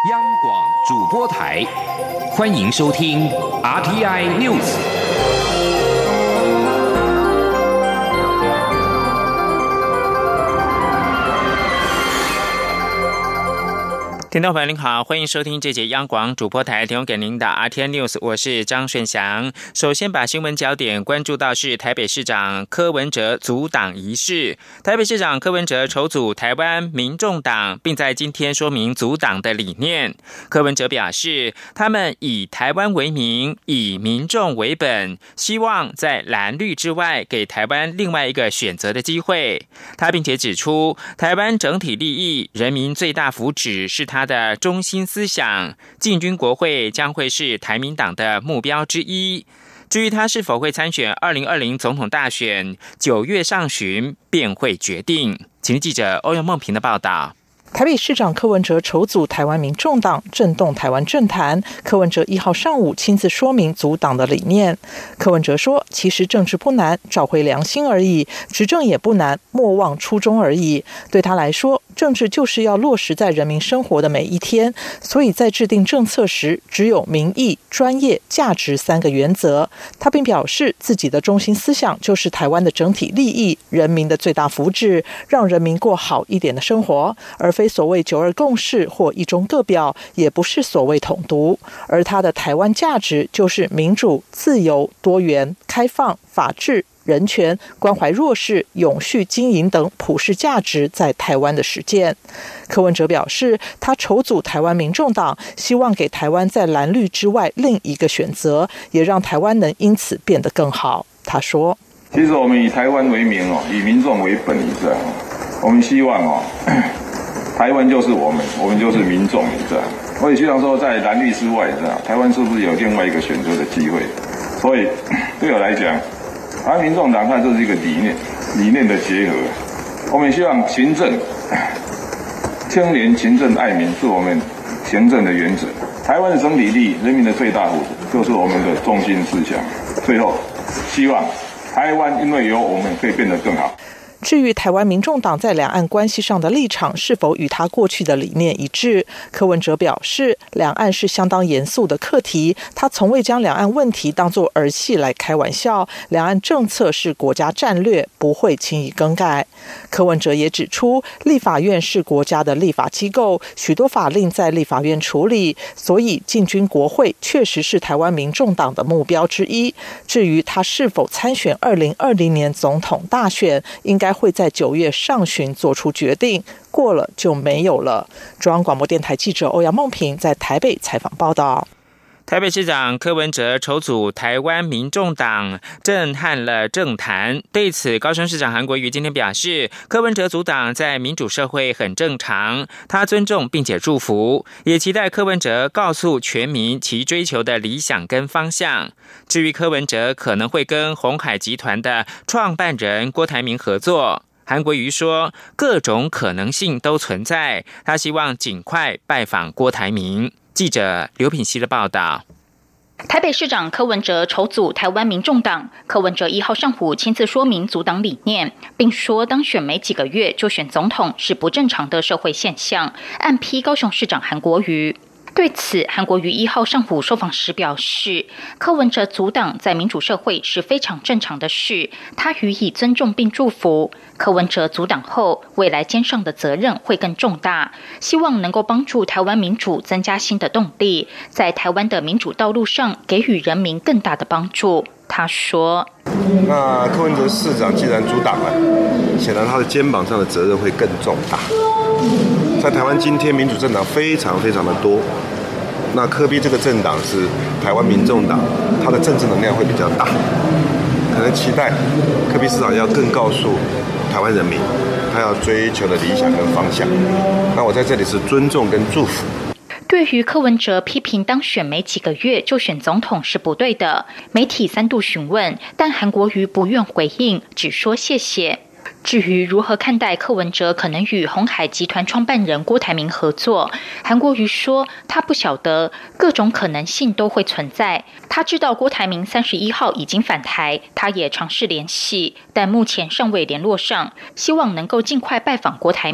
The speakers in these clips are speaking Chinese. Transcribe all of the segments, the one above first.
央广主播台，欢迎收听 RTI News。 听众朋友您好，欢迎收听这节央广主播台提供给您的 RTI News， 我是张顺祥。首先把新闻焦点关注到是台北市长柯文哲组党仪式。台北市长柯文哲筹组台湾民众党，并在今天说明组党的理念。柯文哲表示，他们以台湾为名，以民众为本，希望在蓝绿之外给台湾另外一个选择的机会。他并且指出，台湾整体利益、人民最大福祉是他的中心思想，进军国会将会是台民党的目标之一。至于他是否会参选2020总统大选，9月上旬便会决定。请记者欧阳梦平的报道。 台北市长柯文哲筹组台湾民众党，震动台湾政坛。柯文哲1号上午亲自说明组党的理念。柯文哲说，其实政治不难，找回良心而已，执政也不难，莫忘初衷而已。对他来说，政治就是要落实在人民生活的每一天，所以在制定政策时，只有民意、专业、价值3个原则。他并表示，自己的中心思想就是台湾的整体利益、人民的最大福祉，让人民过好一点的生活，而非所谓9·2共识或一中各表，也不是所谓统独。而他的台湾价值就是民主、自由、多元、开放、法治、人权、关怀弱势、永续经营等普世价值在台湾的实践。柯文哲表示，他筹组台湾民众党，希望给台湾在蓝绿之外另一个选择，也让台湾能因此变得更好。他说， 其实我们以台湾为名，以民众为本，我们希望台湾就是我们就是民众，我也希望说在蓝绿之外，台湾是不是有另外一个选择的机会？所以对我来讲，台湾民众党它这是一个理念的结合。我们希望青年勤政爱民是我们行政的原则。台湾的整体利益、人民的最大福祉就是我们的中心思想。最后，希望台湾因为有我们可以变得更好。 至于台湾民众党在两岸关系上的立场是否与他过去的理念一致，柯文哲表示，两岸是相当严肃的课题，他从未将两岸问题当作儿戏来开玩笑，两岸政策是国家战略，不会轻易更改。柯文哲也指出，立法院是国家的立法机构，许多法令在立法院处理，所以进军国会确实是台湾民众党的目标之一。至于他是否参选2020年总统大选，应该会在9月上旬做出决定，过了就没有了。中央广播电台记者欧阳梦平在台北采访报道。 台北市长柯文哲筹组台湾民众党，震撼了政坛。对此，高雄市长韩国瑜今天表示，柯文哲组党在民主社会很正常，他尊重并且祝福，也期待柯文哲告诉全民其追求的理想跟方向。至于柯文哲可能会跟鸿海集团的创办人郭台铭合作，韩国瑜说，各种可能性都存在，他希望尽快拜访郭台铭。记者刘品希的报道。 台北市长柯文哲筹组台湾民众党，柯文哲1号上午亲自说明组党理念，并说当选没几个月就选总统是不正常的社会现象，暗批高雄市长韩国瑜。对此，韩国瑜1号上午受访时表示，柯文哲组党在民主社会是非常正常的事，他予以尊重并祝福。柯文哲组党后，未来肩上的责任会更重大，希望能够帮助台湾民主增加新的动力，在台湾的民主道路上给予人民更大的帮助。他说， 那柯文哲市长既然组党了，显然他的肩膀上的责任会更重大。在台湾今天民主政党非常非常的多，那柯 P 这个政党是台湾民众党，它的政治能量会比较大，可能期待柯 P 市长要更告诉台湾人民他要追求的理想跟方向。那我在这里是尊重跟祝福。 对于柯文哲批评当选没几个月就选总统是不对的，媒体3度询问，但韩国瑜不愿回应，只说谢谢。至于如何看待柯文哲可能与鸿海集团创办人郭台铭合作，韩国瑜说他不晓得，各种可能性都会存在。他知道郭台铭31号已经返台，他也尝试联系，但目前尚未联络上，希望能够尽快拜访郭台铭。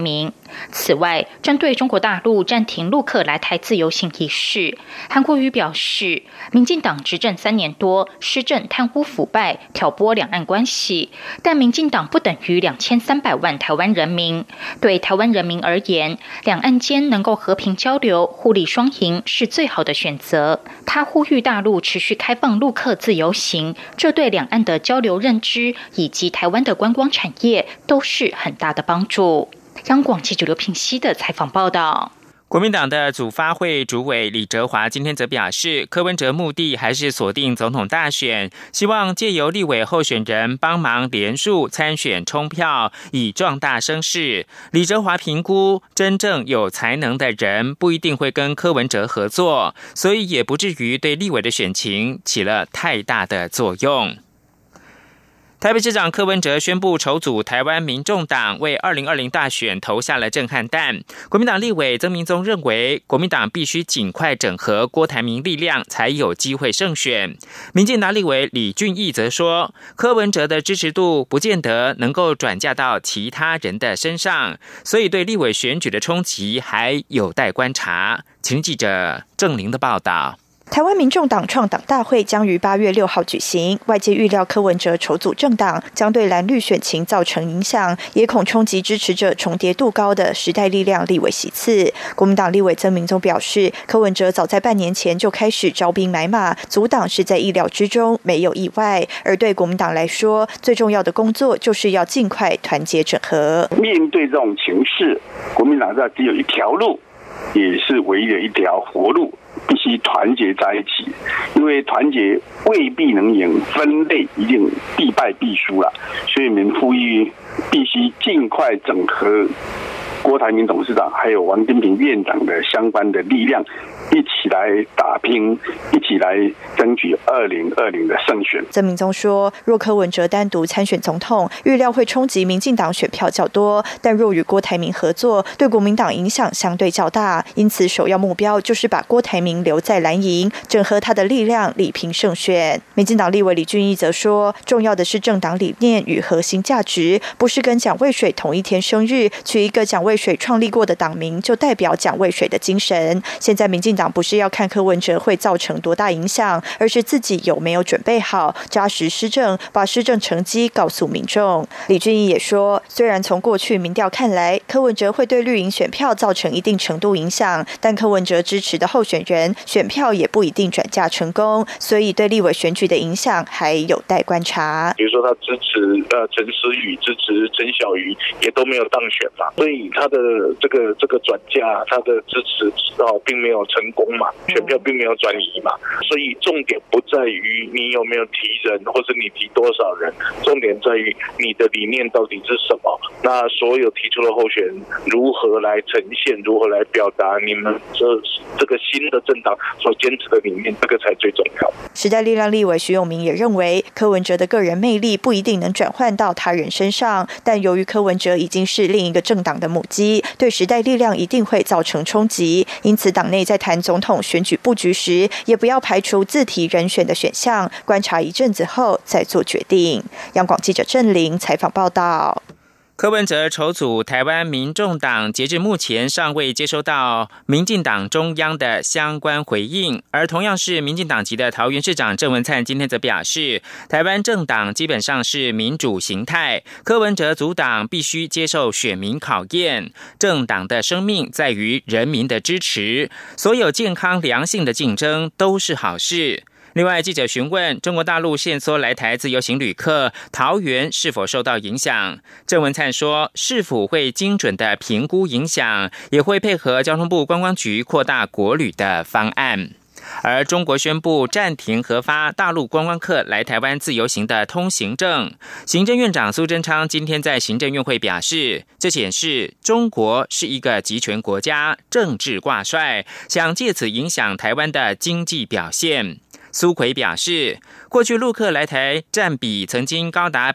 此外，针对中国大陆暂停陆客来台自由行一事，韩国瑜表示，民进党执政3年多，施政贪污腐败，挑拨两岸关系，但民进党不等于2300万台湾人民。对台湾人民而言，两岸间能够和平交流、互利双赢是最好的选择。他呼吁大陆持续开放陆客自由行，这对两岸的交流认知以及台湾的观光产业都是很大的帮助。央广记者刘品熙的采访报道。 国民党的组发会主委李哲华今天则表示，柯文哲目的还是锁定总统大选，希望借由立委候选人帮忙连署参选冲票，以壮大声势。李哲华评估，真正有才能的人不一定会跟柯文哲合作，所以也不至于对立委的选情起了太大的作用。台北市长柯文哲宣布筹组台湾民众党，为2020大选投下了震撼弹。国民党立委曾明宗认为，国民党必须尽快整合郭台铭力量，才有机会胜选。民进党立委李俊毅则说，柯文哲的支持度不见得能够转嫁到其他人的身上，所以对立委选举的冲击还有待观察。请记者郑玲的报道。 台湾民众党创党大会将于8月6号举行，外界预料柯文哲筹组政党将对蓝绿选情造成影响，也恐冲击支持者重叠度高的时代力量立委席次。国民党立委曾明宗表示，柯文哲早在半年前就开始招兵买马，组党是在意料之中，没有意外。而对国民党来说，最重要的工作就是要尽快团结整合。 面对这种情势，国民党只有一条路，也是唯一的一条活路，必须团结在一起，因为团结未必能赢，分裂一定必败必输了。所以我们呼吁必须尽快整合郭台铭董事长还有王金平院长的相关的力量，一起来打拼，一起来争取2020的胜选。 曾明宗说，若柯文哲单独参选总统，预料会冲击民进党选票较多，但若与郭台铭合作，对国民党影响相对较大，因此首要目标就是把郭台铭留在蓝营，整合他的力量，力拼胜选。民进党立委李俊毅则说，重要的是政党理念与核心价值，不是跟蒋渭水同一天生日，取一个蒋渭水创立过的党名就代表蒋渭水的精神。现在民进党不是要看柯文哲会造成多大影响，而是自己有没有准备好扎实施政，把施政成绩告诉民众。李俊毅也说，虽然从过去民调看来，柯文哲会对绿营选票造成一定程度影响，但柯文哲支持的候选人选票也不一定转嫁成功，所以对立委选举的影响还有待观察。 比如说他支持陈思宇，支持陈小瑜，也都没有当选嘛，所以他的这个转嫁，他的支持并没有成功嘛，选票并没有转移嘛，所以重点不在于你有没有提人，或是你提多少人，重点在于你的理念到底是什么。那所有提出的候选人如何来呈现，如何来表达你们这个新的政党所坚持的理念，这个才最重要。 时代力量立委徐永明也认为，柯文哲的个人魅力不一定能转换到他人身上，但由于柯文哲已经是另一个政党的母鸡，对时代力量一定会造成冲击，因此党内在谈总统选举布局时，也不要排除自提人选的选项，观察一阵子后再做决定。央广记者郑玲采访报道。 柯文哲筹组台湾民众党，截至目前尚未接收到民进党中央的相关回应。而同样是民进党籍的桃园市长郑文灿今天则表示，台湾政党基本上是民主形态，柯文哲组党必须接受选民考验，政党的生命在于人民的支持，所有健康良性的竞争都是好事。另外，记者询问中国大陆限缩来台自由行旅客，桃园是否受到影响？郑文灿说，市府会精准的评估影响，也会配合交通部观光局扩大国旅的方案。而中国宣布暂停核发大陆观光客来台湾自由行的通行证。行政院长苏贞昌今天在行政院会表示，这显示中国是一个集权国家，政治挂帅，想借此影响台湾的经济表现。苏揆表示，过去陆客来台占比曾经高达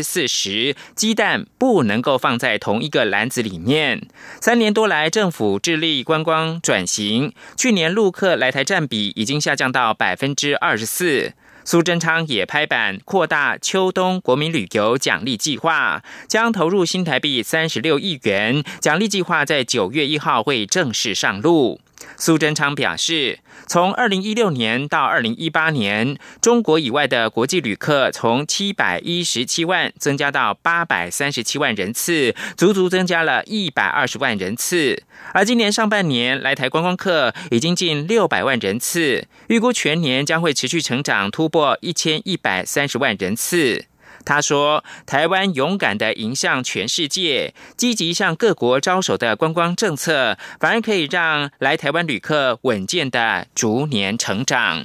40%， 鸡蛋不能够放在同一个篮子里面。3年多来，政府致力观光转型，去年陆客来台占比已经下降到 24%。 苏贞昌也拍板扩大秋冬国民旅游奖励计划，将投入新台币36亿元，奖励计划在9月1号会正式上路。苏贞昌表示，从2016年到2018年，中国以外的国际旅客从717万增加到837万人次，足足增加了120万人次。而今年上半年来台观光客已经近600万人次，预估全年将会持续成长，突破1130万人次。他说，台湾勇敢地迎向全世界，积极向各国招手的观光政策，反而可以让来台湾旅客稳健地逐年成长。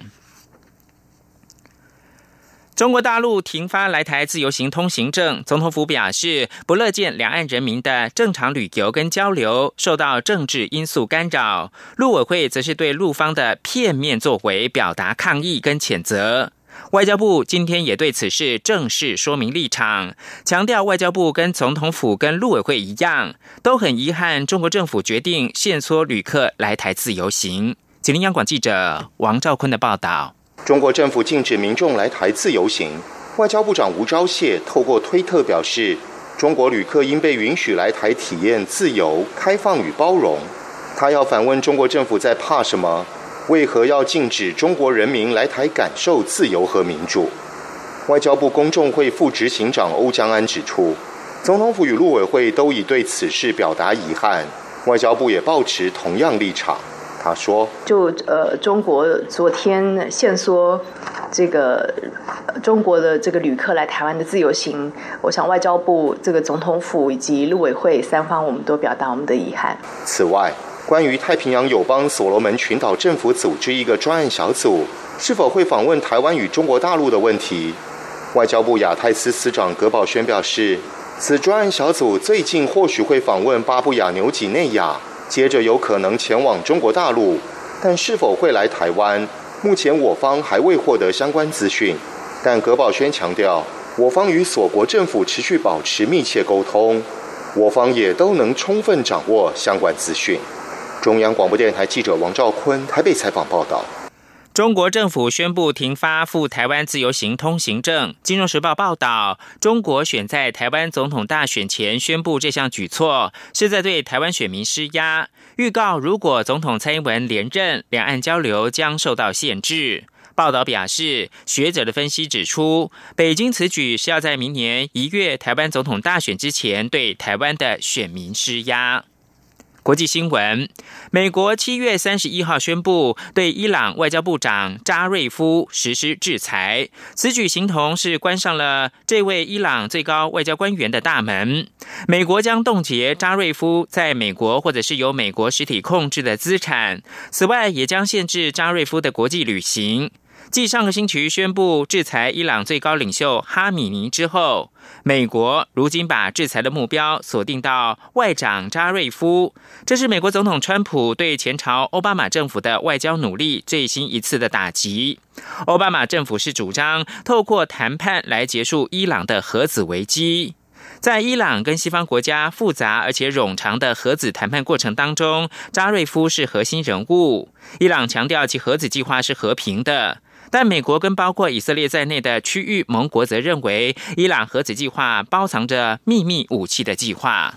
中国大陆停发来台自由行通行证，总统府表示不乐见两岸人民的正常旅游跟交流受到政治因素干扰。陆委会则是对陆方的片面作为表达抗议跟谴责。外交部今天也对此事正式说明立场，强调外交部跟总统府跟陆委会一样，都很遗憾中国政府决定限缩旅客来台自由行。吉林央广记者王兆坤的报道。 中国政府禁止民众来台自由行，外交部长吴钊燮透过推特表示，中国旅客应被允许来台体验自由、开放与包容。他要反问中国政府在怕什么？为何要禁止中国人民来台感受自由和民主？外交部公众会副执行长欧江安指出，总统府与陆委会都已对此事表达遗憾，外交部也抱持同样立场。他说：“ 中国昨天限缩这个中国的这个旅客来台湾的自由行，我想外交部、这个总统府以及陆委会三方，我们都表达我们的遗憾。” 此外，关于太平洋友邦所罗门群岛政府组织一个专案小组是否会访问台湾与中国大陆的问题，外交部亚太司司长葛宝轩表示，此专案小组最近或许会访问巴布亚纽几内亚，接着有可能前往中国大陆，但是否会来台湾，目前我方还未获得相关资讯。但葛宝轩强调，我方与所国政府持续保持密切沟通，我方也都能充分掌握相关资讯。中央广播电台记者王兆坤台北采访报道。 中国政府宣布停发赴台湾自由行通行证。金融时报报道，中国选在台湾总统大选前宣布这项举措，是在对台湾选民施压，预告如果总统蔡英文连任，两岸交流将受到限制。报道表示，学者的分析指出，北京此举是要在明年1月台湾总统大选之前对台湾的选民施压。国际新闻，美国7月31号宣布对伊朗外交部长扎瑞夫实施制裁，此举形同是关上了这位伊朗最高外交官员的大门。美国将冻结扎瑞夫在美国或者是由美国实体控制的资产，此外也将限制扎瑞夫的国际旅行。继上个星期宣布制裁伊朗最高领袖哈米尼之后，美国如今把制裁的目标锁定到外长扎瑞夫，这是美国总统川普对前朝奥巴马政府的外交努力最新一次的打击。奥巴马政府是主张透过谈判来结束伊朗的核子危机。在伊朗跟西方国家复杂而且冗长的核子谈判过程当中，扎瑞夫是核心人物。伊朗强调其核子计划是和平的，但美国跟包括以色列在内的区域盟国则认为，伊朗核子计划包藏着秘密武器的计划。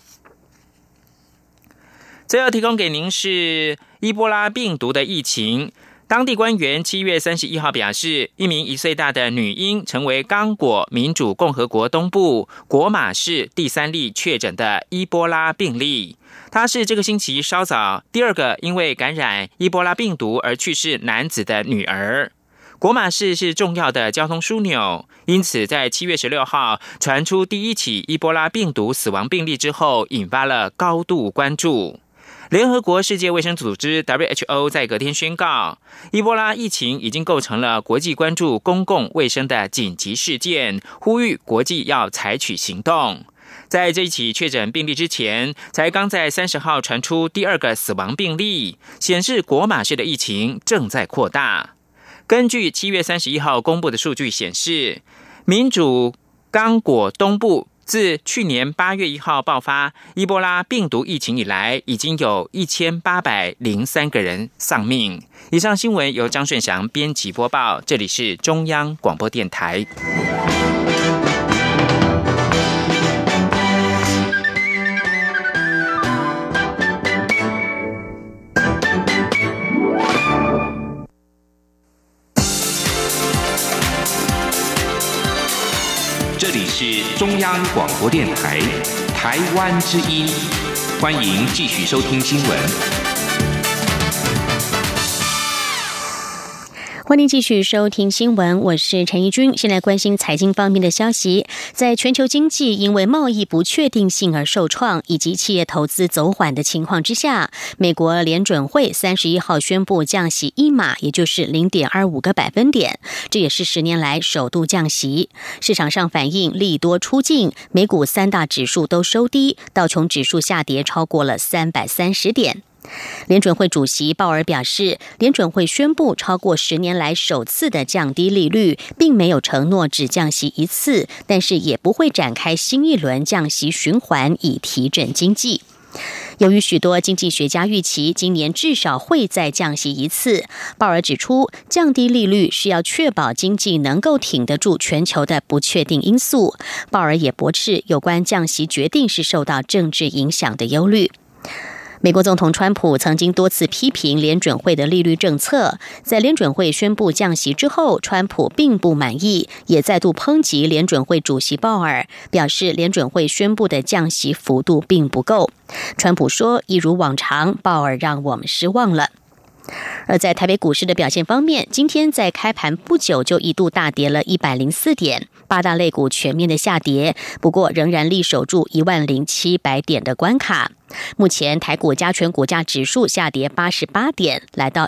最后提供给您是伊波拉病毒的疫情。当地官员7月31号表示，一名1岁大的女婴成为刚果民主共和国东部果马市第3例确诊的伊波拉病例。她是这个星期稍早第2个因为感染伊波拉病毒而去世男子的女儿。果马市是重要的交通枢纽，因此在7月16号传出第1起伊波拉病毒死亡病例之后，引发了高度关注。联合国世界卫生组织 WHO 在隔天宣告，伊波拉疫情已经构成了国际关注公共卫生的紧急事件，呼吁国际要采取行动。在这一起确诊病例之前，才刚在30号传出第2个死亡病例，显示果马市的疫情正在扩大。根据7月31号公布的数据显示，民主刚果东部自去年8月1号爆发伊波拉病毒疫情以来，已经有1803个人丧命。以上新闻由张顺祥编辑播报，这里是中央广播电台。 这里是中央广播电台台湾之音，欢迎继续收听新闻。 欢迎继续收听新闻，我是陈怡君。现在关心财经方面的消息，在全球经济因为贸易不确定性而受创，以及企业投资走缓的情况之下，美国联准会31号宣布降息1码，也就是0.25个百分点，这也是10年来首度降息。市场上反应利多出尽，美股3大指数都收低，道琼指数下跌超过了330点。联准会主席鲍尔表示，联准会宣布超过10年来首次的降低利率，并没有承诺只降息一次，但是也不会展开新一轮降息循环以提振经济。由于许多经济学家预期今年至少会再降息一次，鲍尔指出，降低利率是要确保经济能够挺得住全球的不确定因素。鲍尔也驳斥有关降息决定是受到政治影响的忧虑。美国总统川普曾经多次批评联准会的利率政策，在联准会宣布降息之后，川普并不满意，也再度抨击联准会主席鲍尔，表示联准会宣布的降息幅度并不够。川普说，一如往常，鲍尔让我们失望了。而在台北股市的表现方面，今天在开盘不久就一度大跌了104点，8大类股全面的下跌，不过仍然力守住10700点的关卡。目前台股加权股价指数下跌88点，来到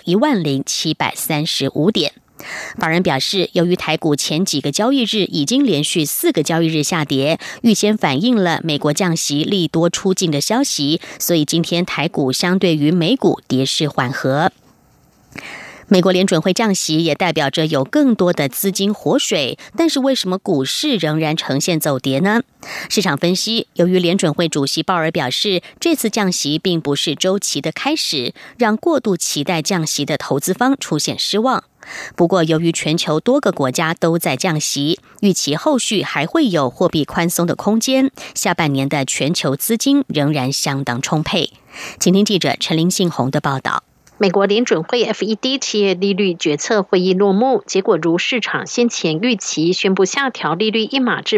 10735点。法人表示，由于台股前几个交易日已经连续4个交易日下跌，预先反映了美国降息利多出尽的消息，所以今天台股相对于美股跌势缓和。美国联准会降息也代表着有更多的资金活水，但是为什么股市仍然呈现走跌呢？市场分析，由于联准会主席鲍尔表示，这次降息并不是周期的开始，让过度期待降息的投资方出现失望。不过，由于全球多个国家都在降息，预期后续还会有货币宽松的空间，下半年的全球资金仍然相当充沛。请听记者陈林信宏的报道。 美国联准会 FED 企业利率决策会议落幕，结果如市场先前预期，宣布下调利率1码至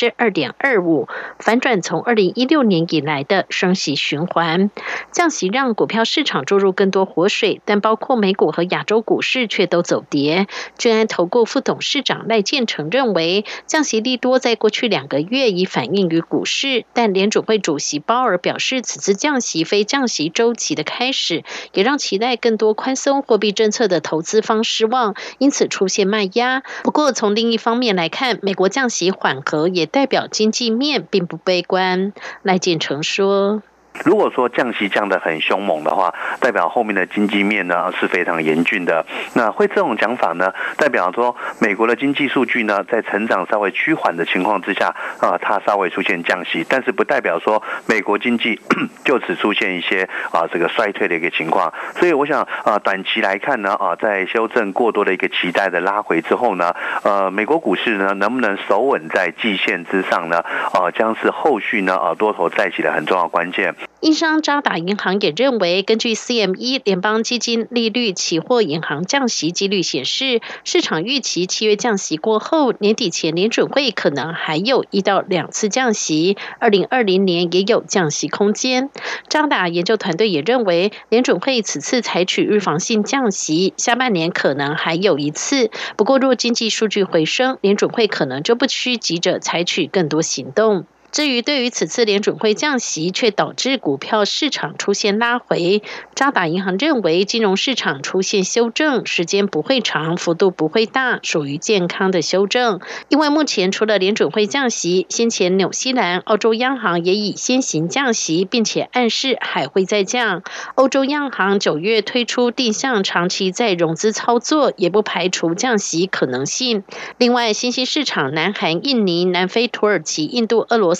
2.25%， 反转从2016年以来的升息循环。降息让股票市场注入更多活水，但包括美股和亚洲股市却都走跌。君安投顾副董事长赖建成认为，降息利多在过去2个月已反映于股市，但联准会主席鲍尔表示，此次降息非降息周期的开始，也让期待更多宽松货币政策的投资方失望，因此出现卖压。不过从另一方面来看，美国降息缓和也代表经济面并不悲观。赖建成说， 如果说降息降得很凶猛的话，代表后面的经济面呢是非常严峻的。那会这种讲法呢，代表说美国的经济数据呢在成长稍微趋缓的情况之下，它稍微出现降息，但是不代表说美国经济就此出现一些这个衰退的一个情况。所以我想短期来看呢，在修正过多的一个期待的拉回之后呢，美国股市呢能不能守稳在季线之上呢？将是后续呢多头再起的很重要关键。 英商渣打银行也认为，根据 CME 联邦基金利率期货银行降息几率显示，市场预期7月降息过后，年底前联准会可能还有1到2次降息，2020年也有降息空间。渣打研究团队也认为，联准会此次采取预防性降息，下半年可能还有1次。不过若经济数据回升，联准会可能就不需急着采取更多行动。至于对于此次联准会降息却导致股票市场出现拉回，渣打银行认为金融市场出现修正，时间不会长，幅度不会大，属于健康的修正。因为目前除了联准会降息，先前纽西兰、澳洲央行也已先行降息，并且暗示还会再降。欧洲央行9月推出定向长期再融资操作，也不排除降息可能性。另外，新兴市场南韩、印尼、南非、土耳其、印度、俄罗斯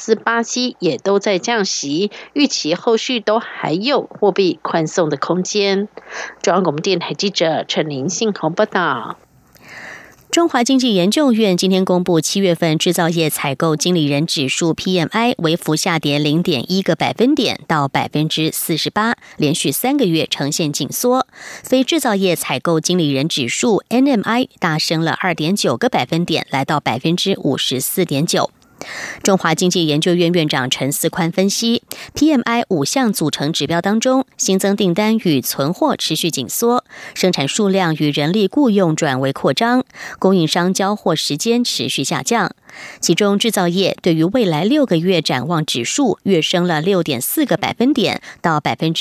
斯、巴西也都在降息，预期后续都还有货币宽松的空间。中央广播电台记者陈林信宏报道。 中华经济研究院今天公布7月份制造业采购经理人指数 PMI 微幅下跌 0.1 个百分点到 48%， 连续3个月呈现紧缩。非制造业采购经理人指数 NMI 大升了 2.9 个百分点，来到 54.9%。中华经济研究院院长陈思宽分析 ，PMI 5项组成指标当中，新增订单与存货持续紧缩，生产数量与人力雇用转为扩张，供应商交货时间持续下降。其中制造业对于未来6个月展望指数跃升了 6.4 个百分点到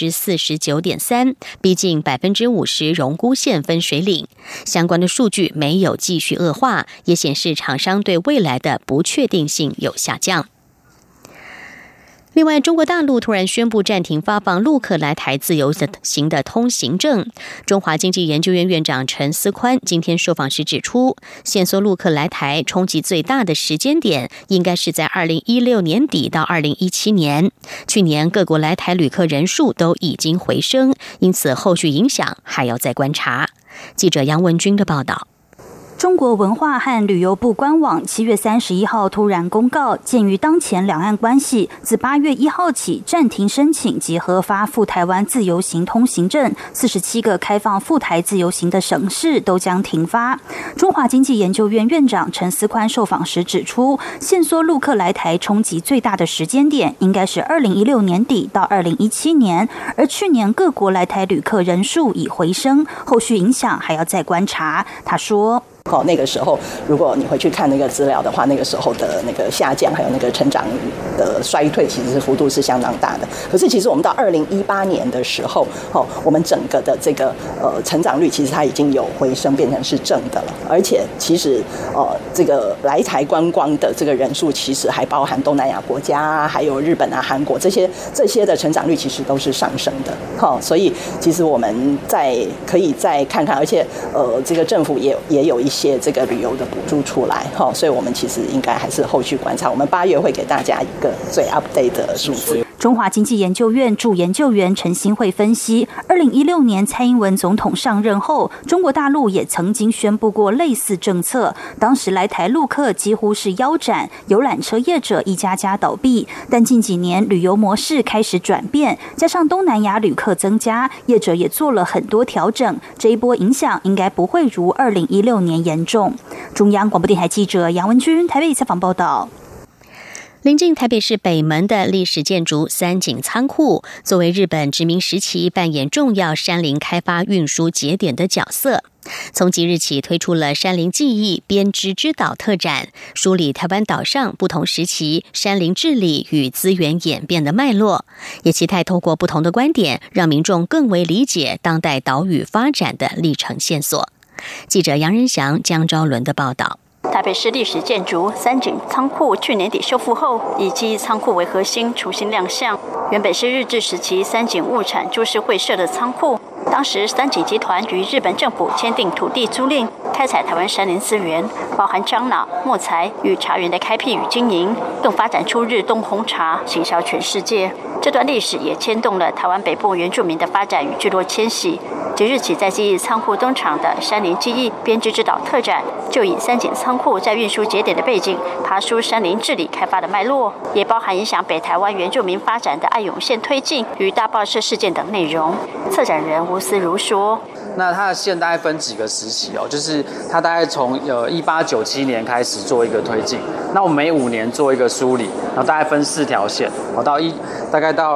49.3%， 逼近 50% 荣枯线分水岭。相关的数据没有继续恶化，也显示厂商对未来的不确定性有下降。另外，中国大陆突然宣布暂停发放陆客来台自由行的通行证。中华经济研究院院长陈思宽今天受访时指出，限缩陆客来台冲击最大的时间点应该是在2016年底到2017年。去年各国来台旅客人数都已经回升，因此后续影响还要再观察。记者杨文君的报道。 中国文化和旅游部官网7月31号突然公告，鉴于当前两岸关系，自8月1号起暂停申请及核发赴台湾自由行通行证，47个开放赴台自由行的省市都将停发。中华经济研究院院长陈思宽受访时指出，限缩陆客来台冲击最大的时间点应该是2016年底到2017年，而去年各国来台旅客人数已回升，后续影响还要再观察。他说， 那个时候如果你回去看那个资料的话，那个时候的那个下降还有那个成长的衰退其实幅度是相当大的。可是其实我们到2018年的时候，我们整个的这个成长率其实它已经有回升，变成是正的了。而且其实这个来台观光的这个人数其实还包含东南亚国家还有日本啊、韩国这些的成长率其实都是上升的。所以其实我们可以再看看，而且这个政府也有一些这个旅游的补助出来，所以我们其实应该还是后续观察。我们8月会给大家一个最 update 的数字。 中华经济研究院驻研究员陈新慧分析，2016年蔡英文总统上任后，中国大陆也曾经宣布过类似政策，当时来台陆客几乎是腰斩，游览车业者一家家倒闭。但近几年旅游模式开始转变，加上东南亚旅客增加，业者也做了很多调整，这一波影响应该不会如2016年严重。中央广播电台记者杨文君台北采访报道。 临近台北市北门的历史建筑三井仓库，作为日本殖民时期扮演重要山林开发运输节点的角色。从即日起推出了山林记忆编织之岛特展，梳理台湾岛上不同时期山林治理与资源演变的脉络，也期待透过不同的观点，让民众更为理解当代岛屿发展的历程线索。记者杨仁祥、江昭伦的报道。 台北市历史建筑三井仓库去年底修复后，以记忆仓库为核心重新亮相。原本是日治时期三井物产株式会社的仓库，当时三井集团与日本政府签订土地租赁，开采台湾山林资源，包含樟脑、木材与茶园的开辟与经营，更发展出日东红茶，行销全世界。这段历史也牵动了台湾北部原住民的发展与聚落迁徙。即日起在记忆仓库登场的山林记忆编织之岛特展，就以三井仓库在运输节点的背景，爬梳山林治理开发的脉络，也包含影响北台湾原住民发展的爱永线推进与大爆社事件等内容。策展人吴思如说， 那它的线大概分几个时期哦，就是它大概从1897年开始做一个推进，那我们每5年做一个梳理，然后大概分4条线，大概到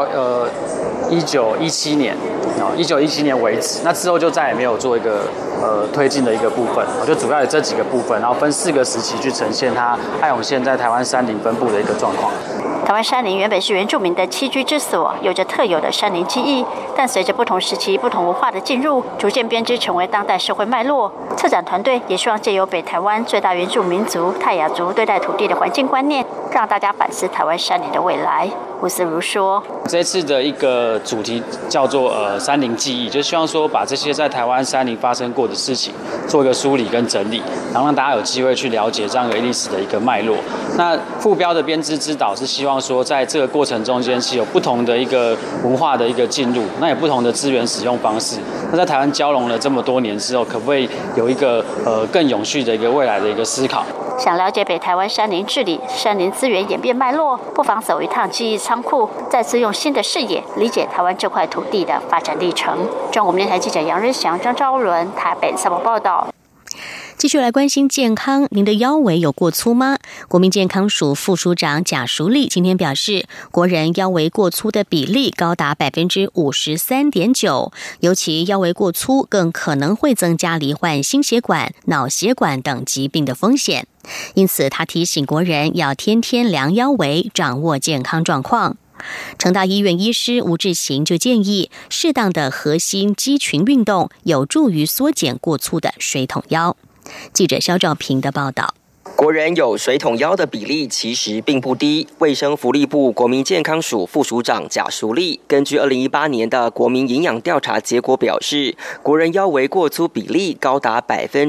1917年，1917年为止，那之后就再也没有做一个推进的一个部分，就主要有这几个部分，然后分4个时期去呈现它爱永线在台湾山林分布的一个状况。 台湾山林原本是原住民的栖居之所，有着特有的山林记忆，但随着不同时期、不同文化的进入，逐渐编织成为当代社会脉络。策展团队也希望借由北台湾最大原住民族泰雅族对待土地的环境观念， 让大家反思台湾山林的未来。吴思如说：“ 这次的一个主题叫做山林记忆，就希望说把这些在台湾山林发生过的事情做一个梳理跟整理，然后让大家有机会去了解这样一个历史的一个脉络。那副标的编织之岛是希望说，在这个过程中间是有不同的一个文化的一个进入，那有不同的资源使用方式。那在台湾交融了这么多年之后，可不可以有一个更永续的一个未来的一个思考？” 想了解北台湾山林治理、山林资源演变脉络，不妨走一趟记忆仓库，再次用新的视野理解台湾这块土地的发展历程。中国电台记者杨日祥、张昭伦台北采访报道。 继续来关心健康，您的腰围有过粗吗？国民健康署副署长贾淑丽今天表示，国人腰围过粗的比例高达 53.9%， 尤其腰围过粗更可能会增加罹患心血管、脑血管等疾病的风险。因此，他提醒国人要天天量腰围，掌握健康状况。成大医院医师吴志行就建议，适当的核心肌群运动有助于缩减过粗的水桶腰。记者肖兆平的报道。 国人有水桶腰的比例其实并不低。卫生福利部国民健康署副署长贾淑丽根据2018年的国民营养调查结果表示，国人腰围过粗比例高达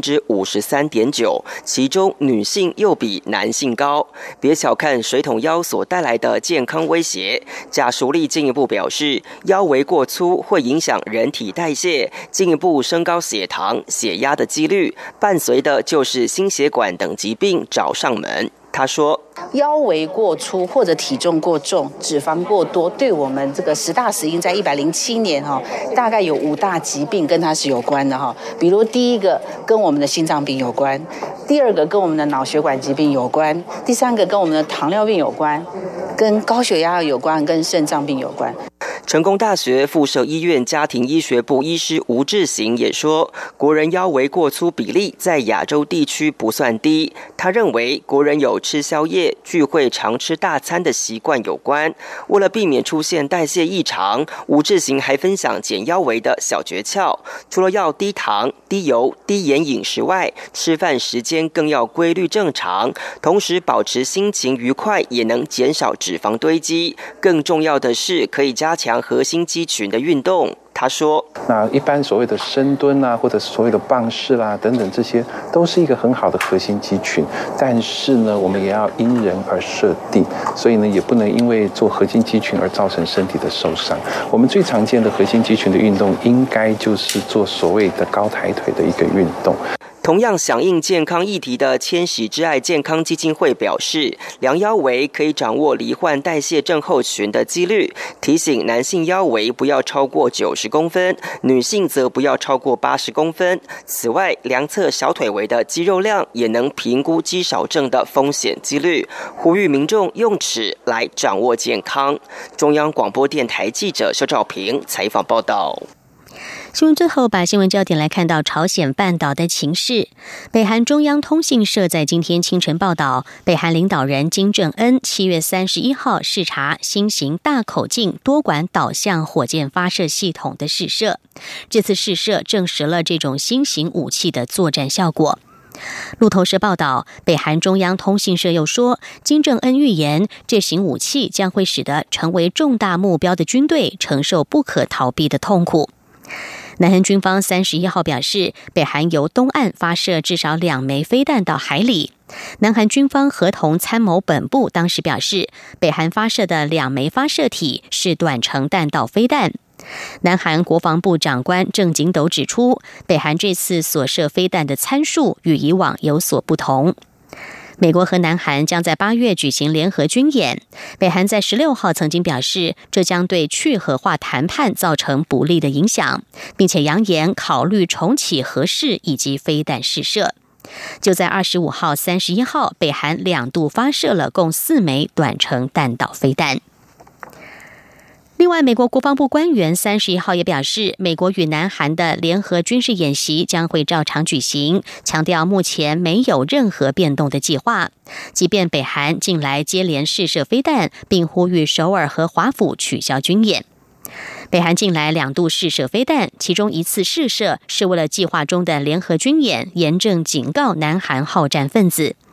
53.9%， 其中女性又比男性高。别小看水桶腰所带来的健康威胁，贾淑丽进一步表示，腰围过粗会影响人体代谢，进一步升高血糖、血压的几率，伴随的就是心血管等疾病找上门。他说， 腰围过粗或者体重过重、脂肪过多，对我们这个10大死因在107年大概有5大疾病跟它是有关的比如第一个跟我们的心脏病有关，第二个跟我们的脑血管疾病有关，第三个跟我们的糖尿病有关，跟高血压有关，跟肾脏病有关。 成功大学附设医院家庭医学部医师吴志行也说，国人腰围过粗比例在亚洲地区不算低。他认为国人有吃宵夜、聚会常吃大餐的习惯有关。为了避免出现代谢异常，吴志行还分享减腰围的小诀窍，除了要低糖、低油、低盐饮食外，吃饭时间更要规律正常，同时保持心情愉快，也能减少脂肪堆积。更重要的是，可以加强核心肌群的运动。他说， 那一般所谓的深蹲啊，或者所谓的棒式啦等等，这些都是一个很好的核心肌群，但是呢，我们也要因人而设定，所以呢，也不能因为做核心肌群而造成身体的受伤。我们最常见的核心肌群的运动，应该就是做所谓的高抬腿的一个运动。 同样响应健康议题的千禧之爱健康基金会表示，量腰围可以掌握罹患代谢症候群的几率，提醒男性腰围不要超过90公分，女性则不要超过80公分。此外，量测小腿围的肌肉量也能评估肌少症的风险几率，呼吁民众用尺来掌握健康。中央广播电台记者肖兆平采访报道。 新闻最后，把新闻焦点来看到朝鲜半岛的情势。北韩中央通讯社在今天清晨报道，北韩领导人金正恩7月31号视察新型大口径多管导向火箭发射系统的试射。这次试射证实了这种新型武器的作战效果。路透社报道，北韩中央通讯社又说，金正恩预言这型武器将会使得成为重大目标的军队承受不可逃避的痛苦。南韩军方31号表示，北韩由东岸发射至少2枚飞弹到海里。南韩军方合同参谋本部当时表示，北韩发射的2枚发射体是短程弹道飞弹。南韩国防部长官郑景斗指出，北韩这次所射飞弹的参数与以往有所不同。美国和南韩将在8月举行联合军演，北韩在16号曾经表示，这将对去核化谈判造成不利的影响，并且扬言考虑重启核试以及飞弹试射。就在25号、31号，北韩2度发射了共4枚短程弹道飞弹。另外，美国国防部官员31号也表示，美国与南韩的联合军事演习将会照常举行，强调目前没有任何变动的计划。即便北韩近来接连试射飞弹，并呼吁首尔和华府取消军演。北韩近来2度试射飞弹，其中一次试射是为了计划中的联合军演严正警告南韩好战分子。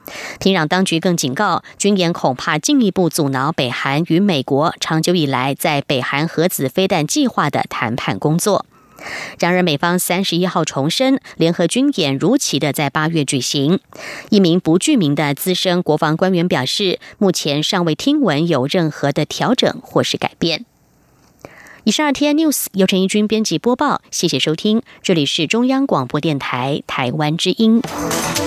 平壤当局更警告，军演恐怕进一步阻挠北韩与美国长久以来在北韩核子飞弹计划的谈判工作。然而，美方31号重申，联合军演如期的在8月举行。一名不具名的资深国防官员表示，目前尚未听闻有任何的调整或是改变。以上RTI News 由陈怡君编辑播报，谢谢收听，这里是中央广播电台台湾之音。